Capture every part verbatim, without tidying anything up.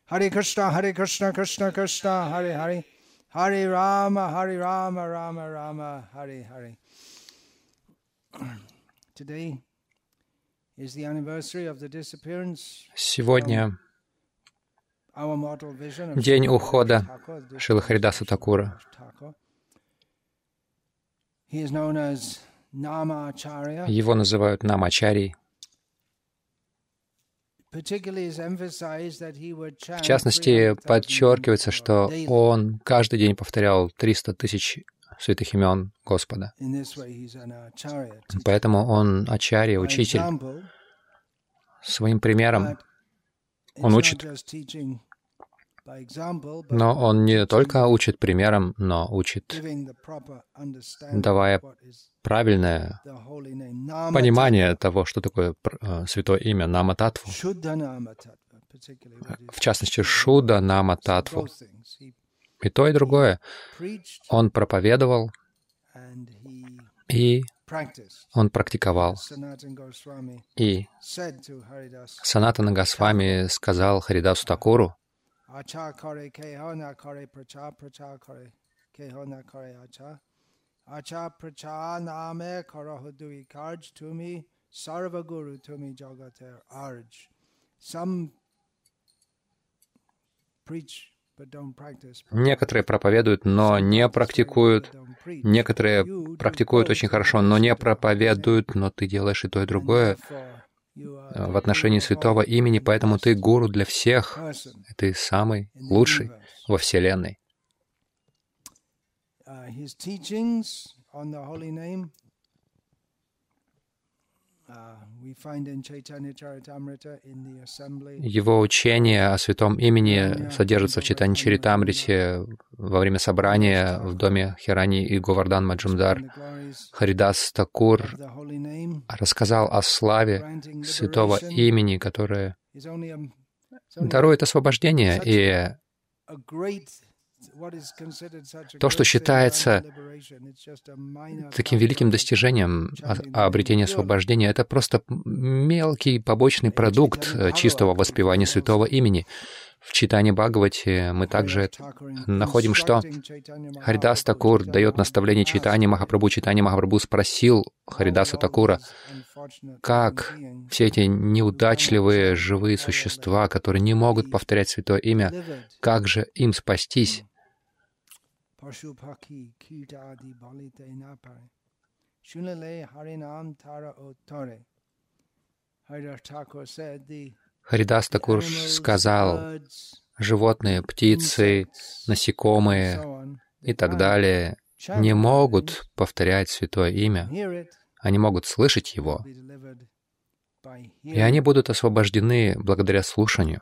Hare Krishna, Hare Krishna, Krishna Krishna, Hare Hare, Hare Rama, Hare Rama, Rama Rama, Hare Hare. Today is the anniversary of the disappearance. Сегодня день ухода Шрилы Харидаса Такура. Его называют Намачарьей. В частности, подчеркивается, что он каждый день повторял триста тысяч святых имен Господа. Поэтому он ачарья, учитель. Своим примером он учит. Но он не только учит примером, но учит, давая правильное понимание того, что такое святое имя Нама-татву. В частности, Шудда Нама-татву. И то, и другое. Он проповедовал, и он практиковал. И Санатана Госвами сказал Харидасу Такуру: некоторые проповедуют, но не практикуют. Некоторые практикуют очень хорошо, но не проповедуют, но ты делаешь и то, и другое в отношении святого имени, поэтому ты гуру для всех. Ты самый лучший во Вселенной. Его учение о святом имени содержится в Чайтанья-чаритамрите во время собрания в доме Хирани и Говардан Маджумдар. Харидас Такур рассказал о славе святого имени, которое дарует освобождение, и то, что считается таким великим достижением обретения освобождения, это просто мелкий побочный продукт чистого воспевания святого имени. В Чайтанья Бхагавате мы также находим, что Харидас Такур дает наставление Чайтаньи Махапрабху. Чайтанья Махапрабху спросил Харидаса Такура, как все эти неудачливые живые существа, которые не могут повторять святое имя, как же им спастись? Харидас Такур сказал: животные, птицы, насекомые и так далее не могут повторять святое имя. Они могут слышать его, и они будут освобождены благодаря слушанию.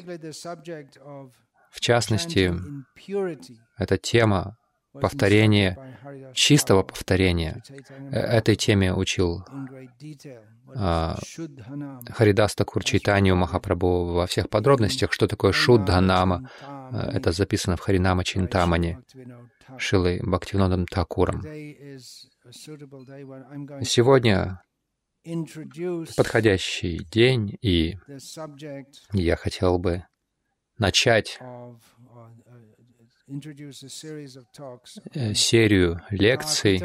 В частности, эта тема повторения, чистого повторения. Этой теме учил а, Харидас Такур Чайтанью Махапрабху во всех подробностях, что такое Шуддха-нама. Это записано в Харинама Чинтамани Шрилой Бхактивинодом Такуром. Сегодня подходящий день, и я хотел бы начать серию лекций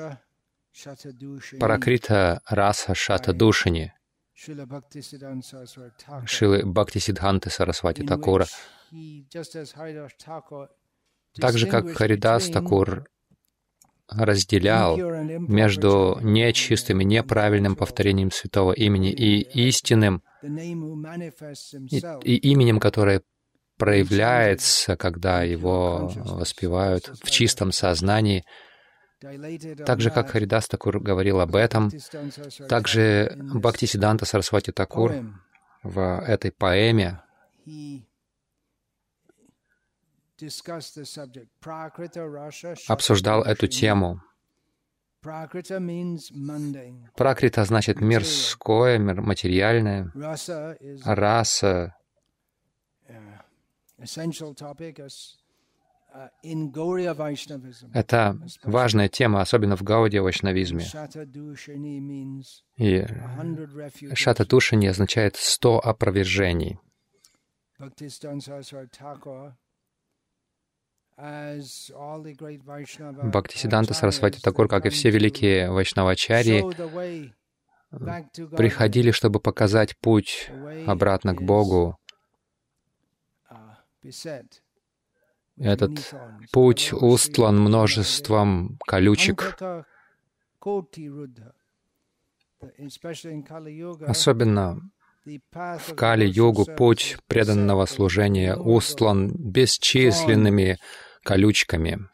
Паракрита Раса Шатадушини Шрилы Бхактисиддханты Сарасвати Такура. Так же, как Харидас Такур разделял между нечистым и неправильным повторением святого имени и истинным, и, и именем, которое проявляется, когда его воспевают в чистом сознании. Так же, как Харидас Такур говорил об этом, также Бхактисиддханта Сарасвати Такур в этой поэме обсуждал эту тему. Пракрита значит мирское, материальное. Раса — это важная тема, особенно в гаудия-вайшнавизме. И Шатадушини означает «сто опровержений». Бхактисиддханта Сарасвати Такур, как и все великие вайшнавачарьи, приходили, чтобы показать путь обратно к Богу. Этот путь устлан множеством колючек. Особенно в Кали-югу путь преданного служения устлан бесчисленными колючками.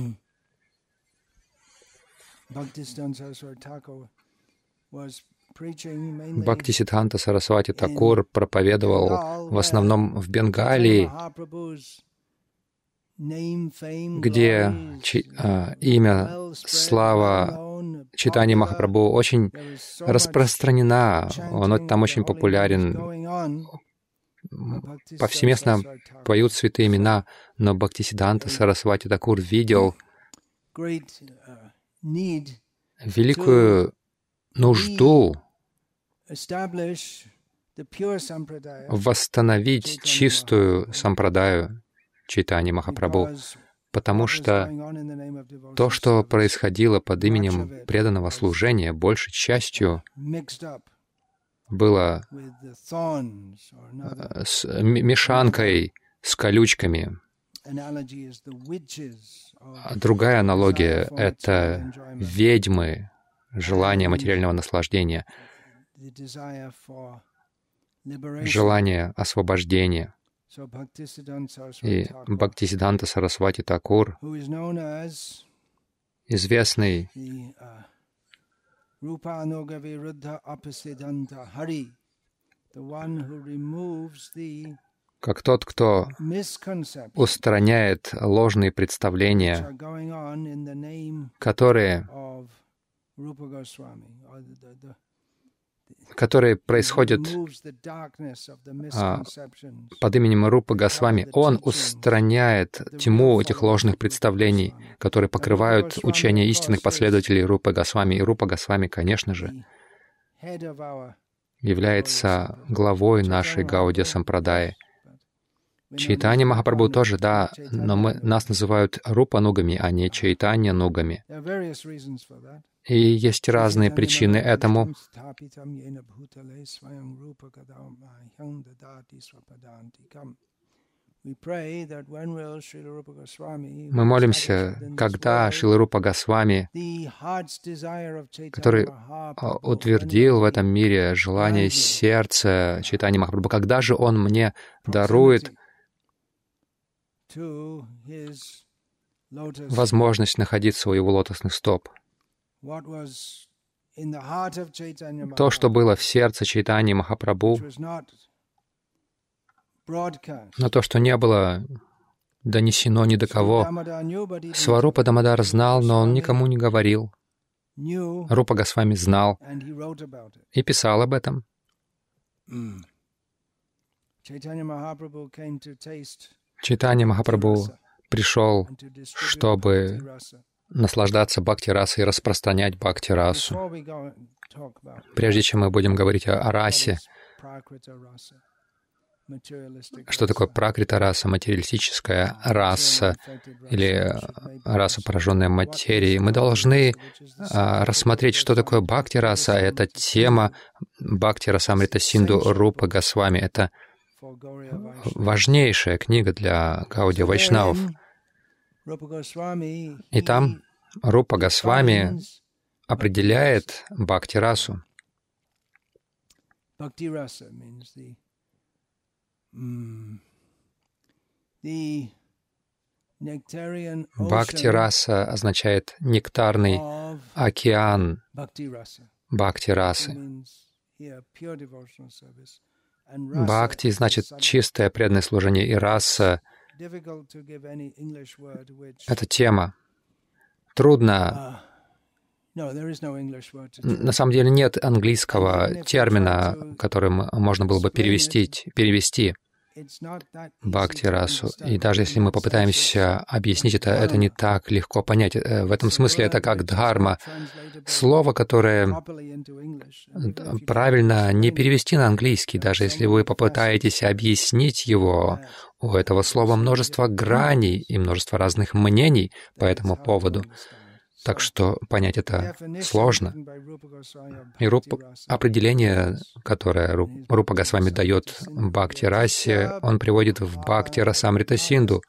Бхактисиддханта Сарасвати Такур проповедовал в основном в Бенгалии, где чи, а, имя, слава Чайтаньи Махапрабху очень распространена, он там очень популярен. Повсеместно поют святые имена, но Бхактисиддханта Сарасвати Такур видел великую нужду восстановить чистую сампрадаю Чайтаньи Махапрабху, потому что то, что происходило под именем преданного служения, большей частью было с мешанкой, с колючками. Другая аналогия — это ведьмы, желание материального наслаждения, желание освобождения. И Бхактисиддханта Сарасвати Такур, известный как тот, кто устраняет ложные представления, которые, которые происходят а, под именем Рупы Госвами. Он устраняет тьму этих ложных представлений, которые покрывают учение истинных последователей Рупы Госвами. И Рупа Госвами, конечно же, является главой нашей Гаудия Сампрадаи. Чайтанья Махапрабху тоже, да, но мы, нас называют Рупа-нугами, а не Чайтанья-нугами. И есть разные причины этому. Мы молимся, когда Шрила Рупа Госвами, который утвердил в этом мире желание сердца Чайтаньи Махапрабху, когда же Он мне дарует возможность находиться у Его лотосных стоп. То, что было в сердце Чайтаньи Махапрабху, но то, что не было донесено ни до кого. Сварупа Дамодар знал, но он никому не говорил. Рупа Госвами знал и писал об этом. Чайтанья Махапрабху пришел, чтобы наслаждаться бхакти-расой и распространять бхакти-расу. Прежде чем мы будем говорить о, о расе, что такое пракрита-раса, материалистическая раса или раса, пораженная материей, мы должны а, рассмотреть, что такое бхакти-раса. Это тема Бхакти-расамрита Синду Рупы Госвами. Это важнейшая книга для Гаудия Вайшнавов. И там Рупа Госвами определяет бхакти-расу. Бхакти-раса означает нектарный океан бхакти-расы. Бхакти значит чистое преданное служение, и раса — это тема. Трудно. На самом деле нет английского термина, которым можно было бы перевести. перевести. бхакти-расу. И даже если мы попытаемся объяснить это, это не так легко понять. В этом смысле это как дхарма. Слово, которое правильно не перевести на английский, даже если вы попытаетесь объяснить его, у этого слова множество граней и множество разных мнений по этому поводу. Так что понять это сложно. И руп... определение, которое Рупа Госвами дает Бхакти-расе, он приводит в Бхакти-расамрита-синду.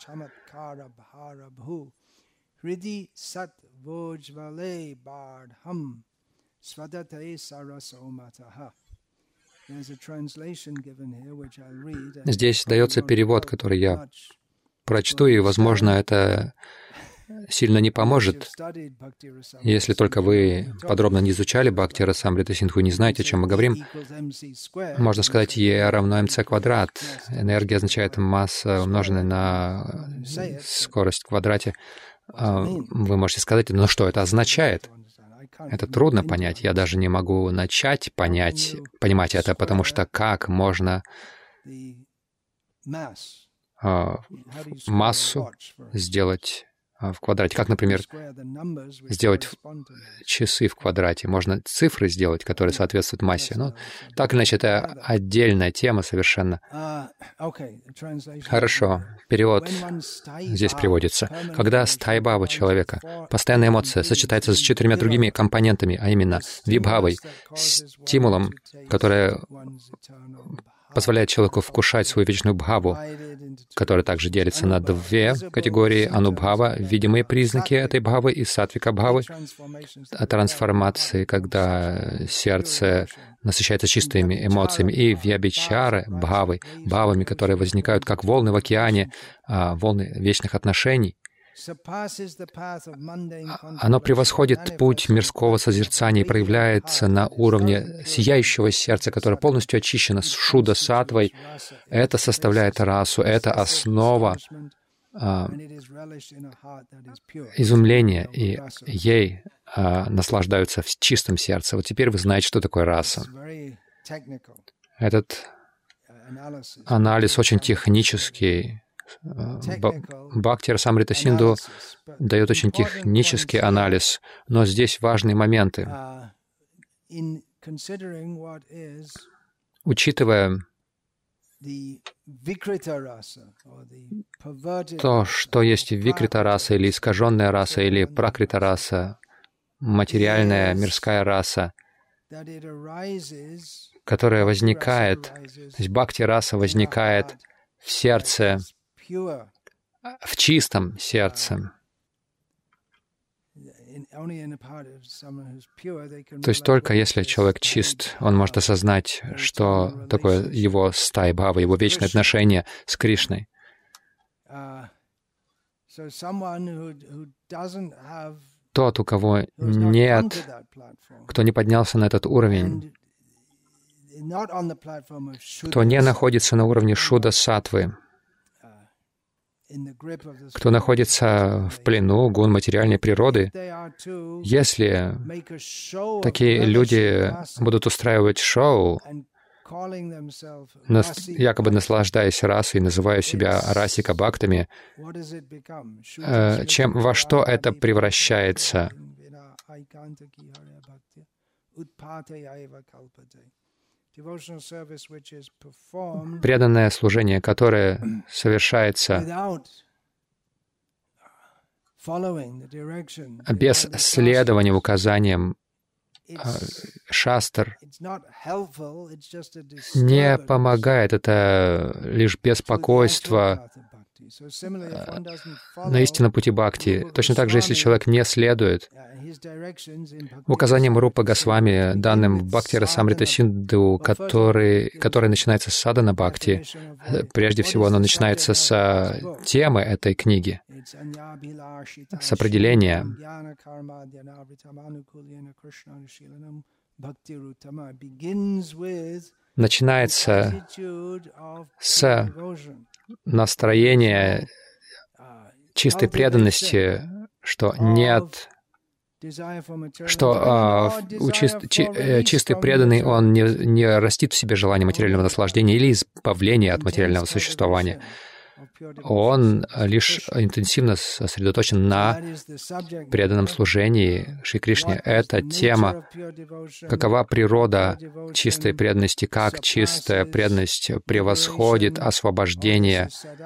Здесь дается перевод, который я прочту, и, возможно, это сильно не поможет, если только вы подробно не изучали Бхакти-расамрита-синдху и не знаете, о чем мы говорим. Можно сказать, Е равно МЦ квадрат. Энергия означает масса, умноженная на скорость в квадрате. Вы можете сказать, но что это означает? Это трудно понять. Я даже не могу начать понять, понимать это, потому что как можно массу сделать в квадрате. Как, например, сделать часы в квадрате. Можно цифры сделать, которые соответствуют массе. Но так или иначе, это отдельная тема совершенно. Хорошо. Перевод здесь приводится. Когда стайбхава человека, постоянная эмоция, сочетается с четырьмя другими компонентами, а именно вибхавой, стимулом, который позволяет человеку вкушать свою вечную бхаву, которая также делится на две категории: анубхава, видимые признаки этой бхавы, и сатвика бхавы, трансформации, когда сердце насыщается чистыми эмоциями, и вьябичары бхавы, бхавами, которые возникают как волны в океане, волны вечных отношений. Оно превосходит путь мирского созерцания и проявляется на уровне сияющего сердца, которое полностью очищено шуда-саттвой. Это составляет расу, это основа а, изумления, и ей а, наслаждаются в чистом сердце. Вот теперь вы знаете, что такое раса. Этот анализ очень технический. Бхакти-расамрита-синду дает очень технический анализ, но здесь важные моменты. Учитывая то, что есть викрита-раса или искаженная раса, или пракрита-раса, материальная мирская раса, которая возникает, то есть бхакти-раса возникает в сердце, в чистом сердце. То есть только если человек чист, он может осознать, что такое его стайбхава, его вечное отношение с Кришной. Тот, у кого нет, кто не поднялся на этот уровень, кто не находится на уровне шуда-саттвы, кто находится в плену гун материальной природы, если такие люди будут устраивать шоу, якобы наслаждаясь расой, называя себя расика-бхактами, чем, во что это превращается? Преданное служение, которое совершается без следования указаниям шастр, не помогает, это лишь беспокойство на истинном пути бхакти. Точно так же, если человек не следует указаниям Рупы Госвами, данным в Бхакти-расамрита-синду, который, который начинается с садхана бхакти, прежде всего оно начинается с темы этой книги, с определения. Начинается с настроения чистой преданности, что нет что а, у чист, чи, э, чистый преданный, он не, не растит в себе желание материального наслаждения или избавления от материального существования. Он лишь интенсивно сосредоточен на преданном служении Шри Кришне. Это тема, какова природа чистой преданности, как чистая преданность превосходит освобождение.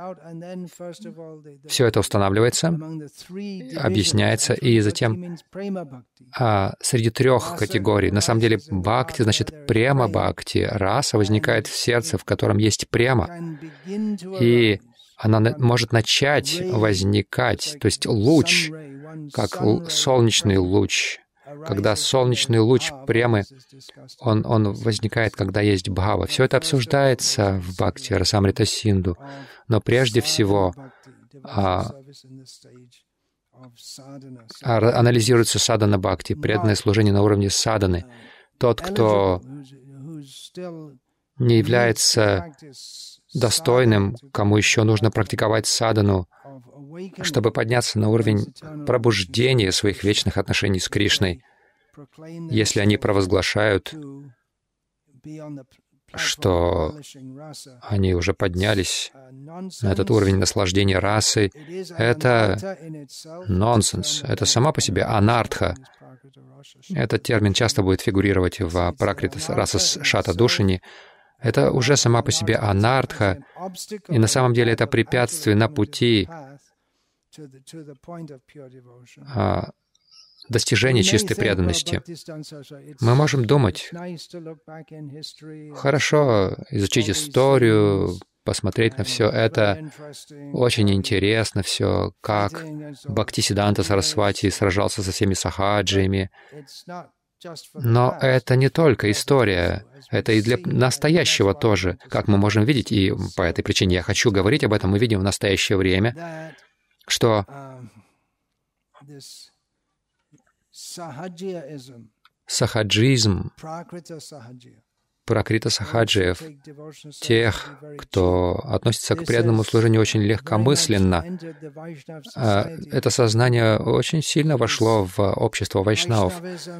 Все это устанавливается, объясняется, и затем а, среди трех категорий, на самом деле, бхакти значит према бхакти, раса возникает в сердце, в котором есть према, и она может начать возникать, то есть луч, как солнечный луч. Когда солнечный луч премы, он, он возникает, когда есть бхава. Все это обсуждается в Бхакти Расамрита Синду, но прежде всего а, а, анализируется садхана бхакти, преданное служение на уровне садханы. Тот, кто не является достойным, кому еще нужно практиковать садхану, чтобы подняться на уровень пробуждения своих вечных отношений с Кришной, если они провозглашают, что они уже поднялись на этот уровень наслаждения расы, это нонсенс, это сама по себе анартха. Этот термин часто будет фигурировать в Пракрита Раса Шата Душини. Это уже сама по себе анартха, и на самом деле это препятствие на пути а, достижения чистой преданности. Мы можем думать, хорошо, изучить историю, посмотреть на все это, очень интересно все, как Бхактисиддханта Сарасвати сражался со всеми сахаджиями. Но это не только история, это и для настоящего тоже, как мы можем видеть, и по этой причине я хочу говорить об этом. Мы видим в настоящее время, что сахаджизм, пракрита сахаджиев, тех, кто относится к преданному служению очень легкомысленно, это сознание очень сильно вошло в общество вайшнавов,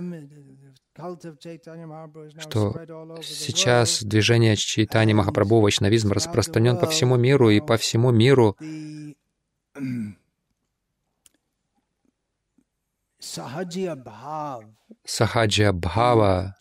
что сейчас движение Чайтаньи Махапрабху, вайшнавизм распространен по всему миру, и по всему миру сахаджия бхава,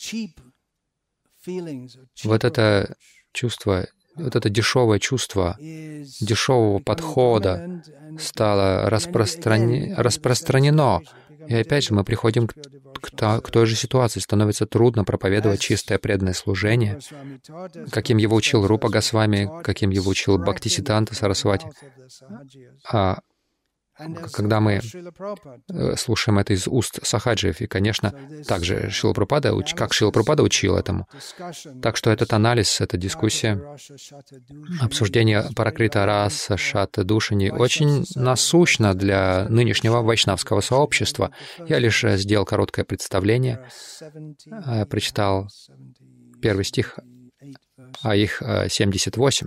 вот это чувство, вот это дешевое чувство дешевого подхода стало распростран... распространено. И опять же мы приходим к, к, к той же ситуации. Становится трудно проповедовать чистое преданное служение, каким его учил Рупа Госвами, каким его учил Бхактисиддханта Сарасвати. А когда мы слушаем это из уст сахаджиев, и, конечно, также Шрила Прабхупада, как Шрила Прабхупада учил этому. Так что этот анализ, эта дискуссия, обсуждение Пракрита Раса Шата Душини очень насущно для нынешнего вайшнавского сообщества. Я лишь сделал короткое представление, прочитал первый стих, а их семьдесят восемь.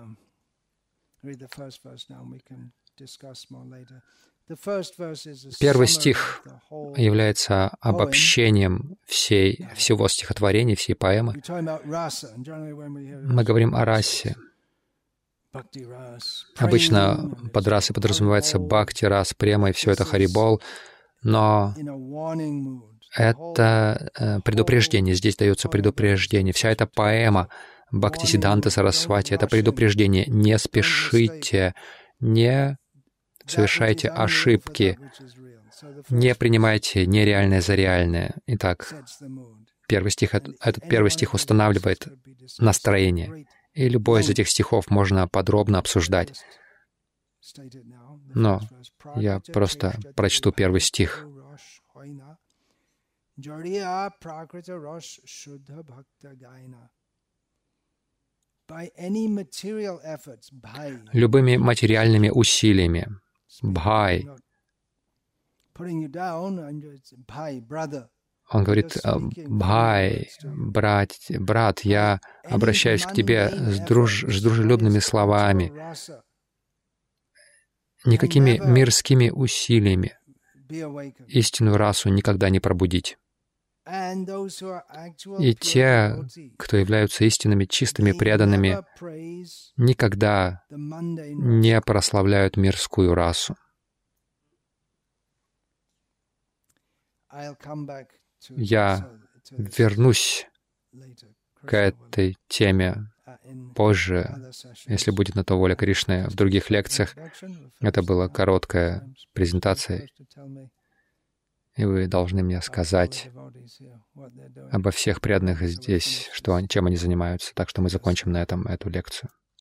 Первый стих является обобщением всей, всего стихотворения, всей поэмы. Мы говорим о расе. Обычно под расой подразумевается бхакти, рас, према, и все это харибол, но это предупреждение, здесь дается предупреждение. Вся эта поэма Бхактисиддханта Сарасвати — это предупреждение. Не спешите, не совершайте ошибки, не принимайте нереальное за реальное. Итак, первый стих, этот первый стих устанавливает настроение, и любой из этих стихов можно подробно обсуждать. Но я просто прочту первый стих. Любыми материальными усилиями. Бхай. Он говорит: «Бхай, брат, брат, я обращаюсь к тебе с, друж, с дружелюбными словами, никакими мирскими усилиями. истинную расу никогда не пробудить. И те, кто являются истинными, чистыми, преданными, никогда не прославляют мирскую расу. Я вернусь к этой теме позже, если будет на то воля Кришны, в других лекциях. Это была короткая презентация, и вы должны мне сказать обо всех преданных здесь, что, чем они занимаются. Так что мы закончим на этом эту лекцию.